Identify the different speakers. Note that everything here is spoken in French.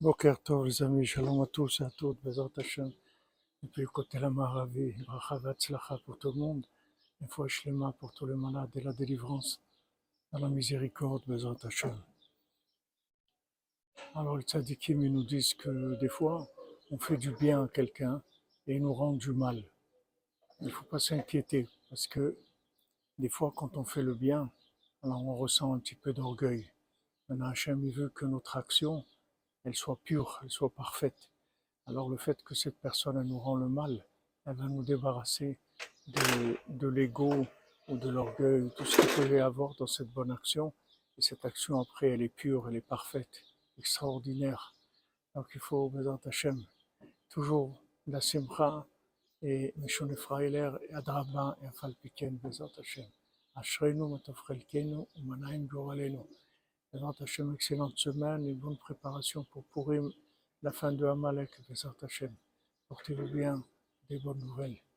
Speaker 1: Boker Tov les amis, shalom à tous et à toutes, Bezrat Hashem. Depuis le côté la Maravi, bracha v'atzlacha pour tout le monde, une fois shlema pour tous les malades et la délivrance, dans la miséricorde, Bezrat Hashem. Alors les tzadikim, ils nous disent que des fois, on fait du bien à quelqu'un et ils nous rendent du mal. Il ne faut pas s'inquiéter, parce que des fois, quand on fait le bien, alors on ressent un petit peu d'orgueil. Maintenant, Hashem, il veut que notre action, elle soit pure, elle soit parfaite. Alors le fait que cette personne elle nous rend le mal, elle va nous débarrasser de l'ego ou de l'orgueil, tout ce qu'il peut y avoir dans cette bonne action. Et cette action après, elle est pure, elle est parfaite, extraordinaire. Donc il faut, Bezat Hashem, toujours la simcha et Mishon Frailer et Adraba et Afalpiken, Bezat Hashem. Ashreinu, Matofrelkenu, Umanaim Goralenu. Bezat Hashem, excellente semaine et bonne préparation pour Purim, la fin de Amalek, Bezat Hashem. Portez-vous bien, des bonnes nouvelles.